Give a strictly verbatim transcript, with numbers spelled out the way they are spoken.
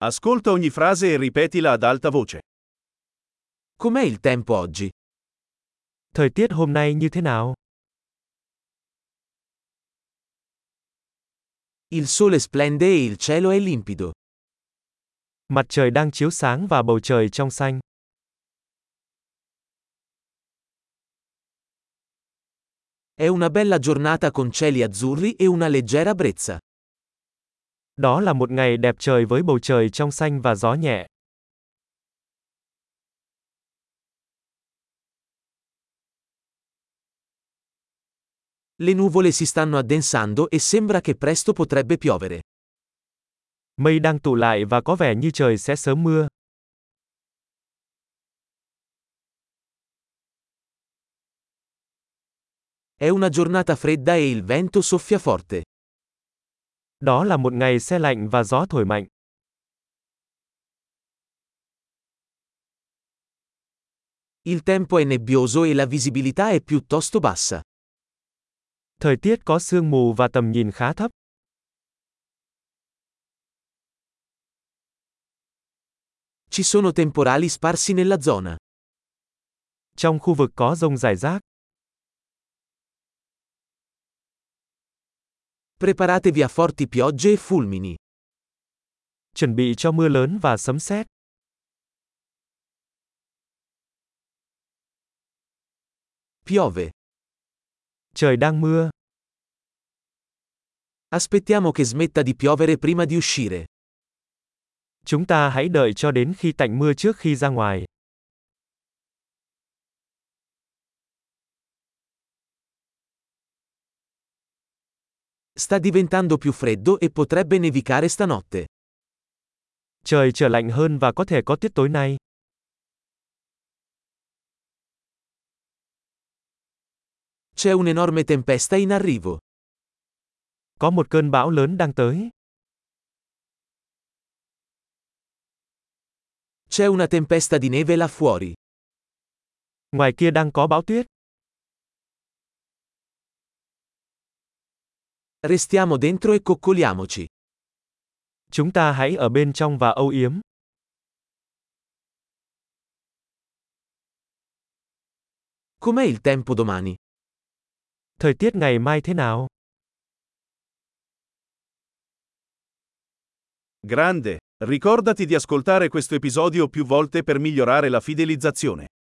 Ascolta ogni frase e ripetila ad alta voce. Com'è il tempo oggi? Thời tiết hôm nay như thế nào? Il sole splende e il cielo è limpido. Mặt trời đang chiếu sáng và bầu trời trong xanh. È una bella giornata con cieli azzurri e una leggera brezza. Đó là một ngày đẹp trời với bầu trời trong xanh và gió nhẹ. Le nuvole si stanno addensando e sembra che presto potrebbe piovere. Mây đang tụ lại và có vẻ như trời sẽ sớm mưa. È una giornata fredda e il vento soffia forte. Đó là một ngày se lạnh và gió thổi mạnh. Il tempo è nebbioso e la visibilità è piuttosto bassa. Thời tiết có sương mù và tầm nhìn khá thấp. Ci sono temporali sparsi nella zona. Trong khu vực có dông rải rác. Preparatevi a forti piogge e fulmini. Chuẩn bị cho mưa lớn và sấm sét. Piove. Trời đang mưa. Aspettiamo che smetta di piovere prima di uscire. Chúng ta hãy đợi cho đến khi tạnh mưa trước khi ra ngoài. Sta diventando più freddo e potrebbe nevicare stanotte. Trời trở lạnh hơn và có thể có tuyết tối nay. C'è un'enorme tempesta in arrivo. Có một cơn bão lớn đang tới. C'è una tempesta di neve là fuori. Ngoài kia đang có bão tuyết. Restiamo dentro e coccoliamoci. Chúng ta hãy ở bên trong và âu yếm. Com'è il tempo domani? Thời tiết ngày mai thế nào? Grande! Ricordati di ascoltare questo episodio più volte per migliorare la fidelizzazione.